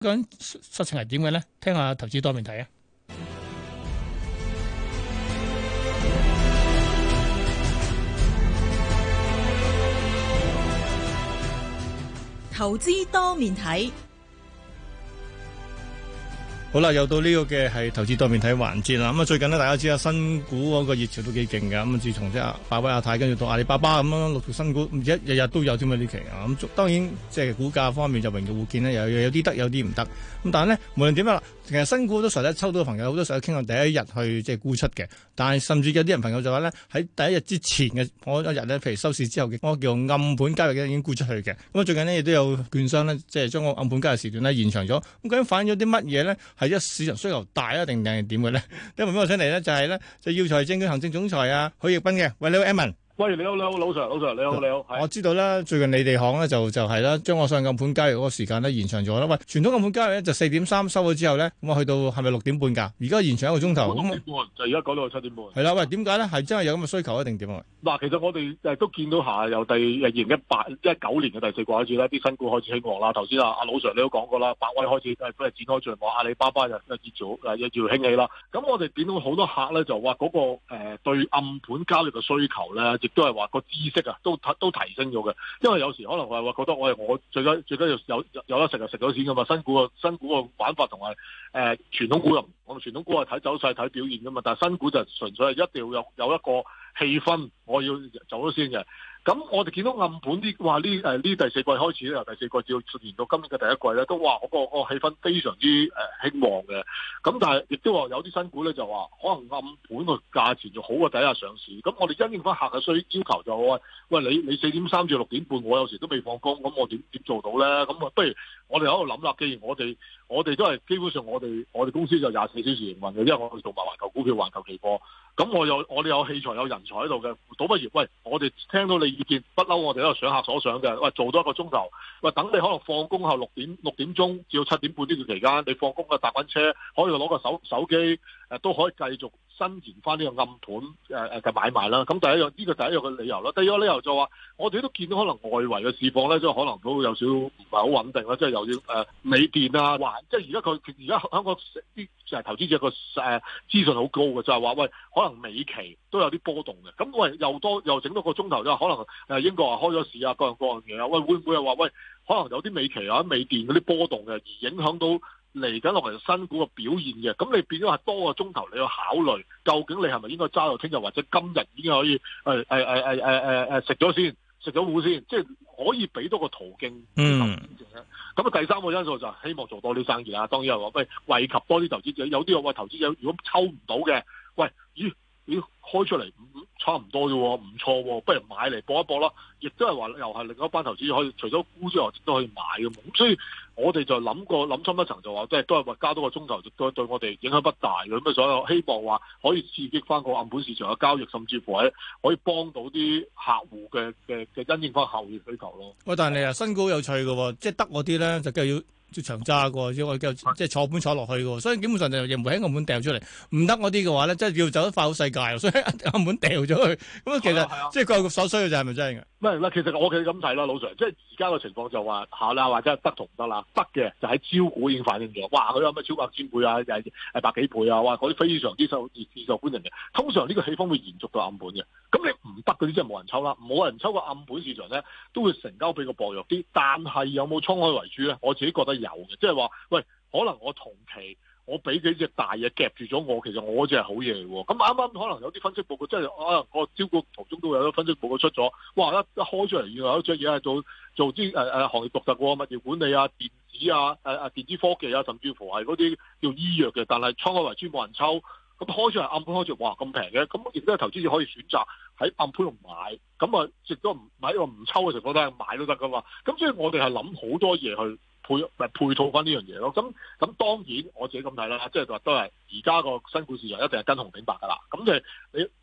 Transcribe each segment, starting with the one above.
究竟實情係點嘅咧？聽下投資多面睇啊！ 投資多面睇。 好啦，又到呢個嘅係投資多面睇環節啦。咁啊，最近呢，大家知啊，新股嗰個熱潮都幾勁嘅。咁啊，自從即係百威亞太跟住到阿里巴巴咁樣陸續新股，唔知日日都有添啊呢期啊。咁當然即係股價方面就榮耀互見呢，有啲得，有啲唔得。咁但係呢，無論點樣啦，其實新股好多時候咧，抽到嘅朋友好多時候傾向第一日去即係沽出嘅。但係甚至有啲人朋友就話咧，喺第一日之前嘅嗰一日咧，譬如收市之後嘅嗰個叫暗盤交易嘅已經沽出去嘅。咁啊，最近呢，亦都有券商呢，即係將個暗盤交易時段呢延長咗。咁究竟反映咗啲乜嘢呢？係一市場需求大啊，定係點嘅咧？今日俾我請嚟咧，就係咧，就耀才證券行政總裁啊許繹彬嘅。喂，你好 Edmond。 喂，你好，老 Sir，你好。 我知道啦，最近你哋行咧就係啦，將我上暗盤交易嗰個時間咧延長咗啦。喂，傳統暗盤交易咧就4.3收咗之後咧，咁啊去到係咪6.半㗎？而家延長1個鐘頭。 6點半就而家講到7點半。 係啦，喂，點解咧？係真係有咁嘅需求一定點啊？ 嗱，其實我哋都見到下由2019年嘅第四季開始咧，啲新股開始興旺啦。頭先阿老 Sir 你都講過啦，百威開始都係展開序幕，阿里巴巴就熱潮興起啦。咁我哋見到好多客咧就話嗰個對暗盤交易嘅需求咧，亦都係話個知識啊都提升咗嘅。因為有時可能話覺得我最緊要有得食就食咗錢噶嘛。新股個玩法同埋傳統股又唔同，傳統股係睇走勢睇表現噶嘛，但係新股就純粹係一定要有一個氣氛，我要走咗先嘅。咁我哋見到暗盤啲話呢第四季開始咧，由第四季至到延到今年嘅第一季咧，都話嗰個氣氛非常之興旺嘅。咁但係亦都話有啲新股咧就話可能暗盤個價錢就好過第一日上市。咁我哋因應翻客嘅要求就話喂，你4.3至6點半，我有時都未放工，咁我點做到咧？咁啊，不如我哋喺度諗啦。既然我哋都係基本上我哋公司就24小時營運嘅，因為我哋做埋環球股票、環球期貨。咁我哋有器材有人才喺度嘅，倒不如喂，我哋聽到你意見，不嬲我哋喺度上客所想嘅，喂，做多1個鐘頭，喂，等你可能放工後6點鐘至到7點半呢段期間，你放工嘅搭緊車，可以攞個手機都可以繼續伸延翻呢個暗盤嘅買賣啦。咁第一樣呢個第一樣嘅理由啦。第二個理由就話，我哋都見到可能外圍嘅市況咧，即係可能都有少唔係好穩定啦，即係又要美電啊，即係而家香港啲投資者個資訊好高嘅，就係話喂，可能美期都有啲波動嘅。咁喂又整多個鐘頭，就可能英國話開咗市啊，各樣嘢啊，喂，會唔會係話喂，可能有啲美期啊、美電嗰啲波動嘅，而影響到嚟緊落嚟新股嘅表現嘅？咁你變咗係多個鐘頭，你要考慮究竟你係咪應該揸到聽日，或者今日已經可以食咗先，食咗糊先，即係可以俾多個途徑。咁啊，第三個因素就係希望做多啲生意啦。當然係話喂，惠及多啲投資者。有啲話投資者如果抽唔到嘅，喂，咦開出嚟差唔多啫，唔錯喎，不如買嚟搏一搏啦。亦都係話又係另一班投資者可以除咗沽之外，都可以買嘅。咁所以我哋就諗深一層，就話即係都係話加多個鐘頭，都對我哋影響不大嘅。咁啊，所以希望話可以刺激翻個暗盤市場嘅交易，甚至乎係可以幫到啲客戶嘅因應翻客戶需求咯。 喂，但係你新股有趣嘅喎，即係得嗰啲咧就梗係要長揸嘅，即係坐盤坐落去嘅，所以基本上就又唔會喺暗盤掉出嚟。唔得嗰啲嘅話咧，即係要走得快好世界，所以暗盤掉咗去。咁其實即係佢所需嘅就係咪真係嘅？ 唔係嗱，其實我哋咁睇啦，老 Sir，即係而家嘅情況就話下啦，或者係得同唔得啦？得嘅就喺招股已經反映咗，哇！佢有咩超百千倍啊，又係百幾倍啊，哇！嗰啲非常之受歡迎嘅。通常呢個氣氛會延續到暗盤嘅。咁你唔得嗰啲，即係冇人抽啦，冇人抽個暗盤市場咧，都會成交比較薄弱啲。但係有冇滄海為珠咧？我自己覺得有嘅，即係話喂，可能我同期我俾幾隻大嘢夾住咗我，其實我隻係好嘢嚟喎。咁啱啱可能有啲分析報告，即係可能個招股途中都會有啲分析報告出咗，哇！一開出嚟，原來有一隻嘢係做啲行業獨特嘅物業管理啊、電子啊、電子科技啊，甚至乎係嗰啲叫醫藥嘅，但係滄海為珠冇人抽。咁開出嚟暗盤開出，哇咁平嘅，咁亦都係投資者可以選擇喺暗盤度買，咁啊亦都唔喺個唔抽嘅情況底下買都得噶嘛。咁所以我哋係諗好多嘢去配套翻呢樣嘢咯。咁當然我自己咁睇啦，即係話都係而家個新股市場一定係跟紅頂白噶啦。咁就係你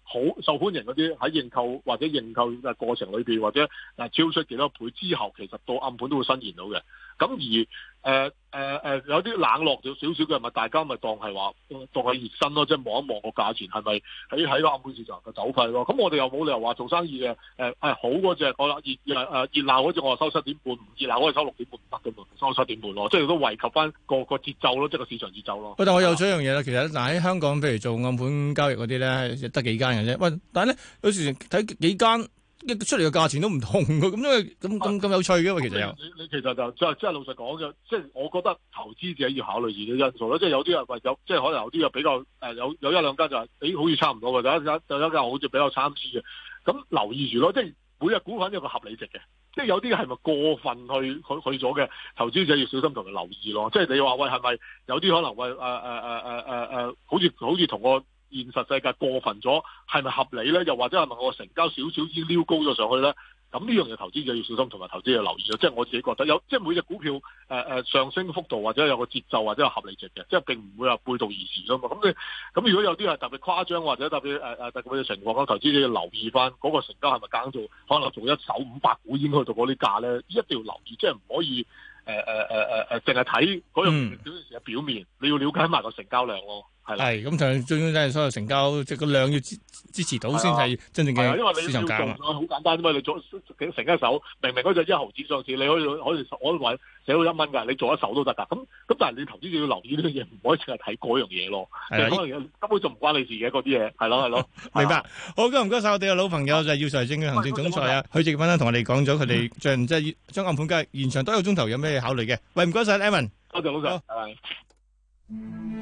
好受歡迎嗰啲喺認購或者認購嘅過程裏邊，或者超出幾多倍之後，其實到暗盤都會伸延到嘅。咁而有啲冷落咗少少嘅，咪大家咪當係話當係熱身咯，即係望一望個價錢係咪喺個暗盤市場嘅走勢咯。咁我哋又冇理由話做生意嘅好嗰隻我熱鬧嗰隻我話收7.5，唔熱鬧嗰隻收6.5唔得嘅嘛，收7.5咯，即係都惠及翻個節奏咯，即係個市場節奏咯。 但我有咗一樣嘢啦，其實嗱喺香港，譬如做暗盤交易嗰啲咧，得幾間嘅啫。喂，但係咧有時睇幾間出嚟嘅價錢都唔同嘅，咁因為咁有趣嘅嘛，其實你其實就即係老實講嘅，即係我覺得投資者要考慮自己因素咯。即係有啲人話即係可能有啲又比較有一兩間就係好似差唔多嘅，有一間好似比較參差嘅，咁留意住咯。即係每隻股份有個合理值嘅，即係有啲係咪過分去咗嘅，投資者要小心同佢留意咯。即係你話喂係咪有啲可能喂好似同個現實世界過分咗，係咪合理咧？又或者係咪我成交少少已經撩高咗上去咧？咁呢樣嘢投資者要小心，同埋投資者要留意咯。即係我自己覺得有，即係每隻股票上升幅度或者有個節奏或者有合理值嘅，即係並唔會話背道而馳咯嘛。咁如果有啲係特別誇張或者特別特別嘅情況，咁投資者要留意翻嗰個成交係咪揀做可能做一手500股已經去到嗰啲價咧，一定要留意，即係唔可以淨係睇嗰樣嘅表面，你要了解埋個成交量咯。 係咁，最終真係所有成交即係個量要支持到先係真正嘅市場價嘛。 好簡單啫嘛，你做成一手，明明嗰隻1毫子上市，你可以話寫到1蚊㗎，你做一手都得㗎。咁但係你投資者要留意呢樣嘢，唔可以淨係睇嗰樣嘢咯。係可能根本就唔關你事嘅嗰啲嘢，係咯。 明白。好，唔該晒我哋嘅老朋友就係耀才證券行政總裁啊許智傑同我哋講咗佢哋即係將暗盤交易延長多1個鐘頭有咩考慮嘅。喂，唔該晒 Evan。 多謝老實，拜拜。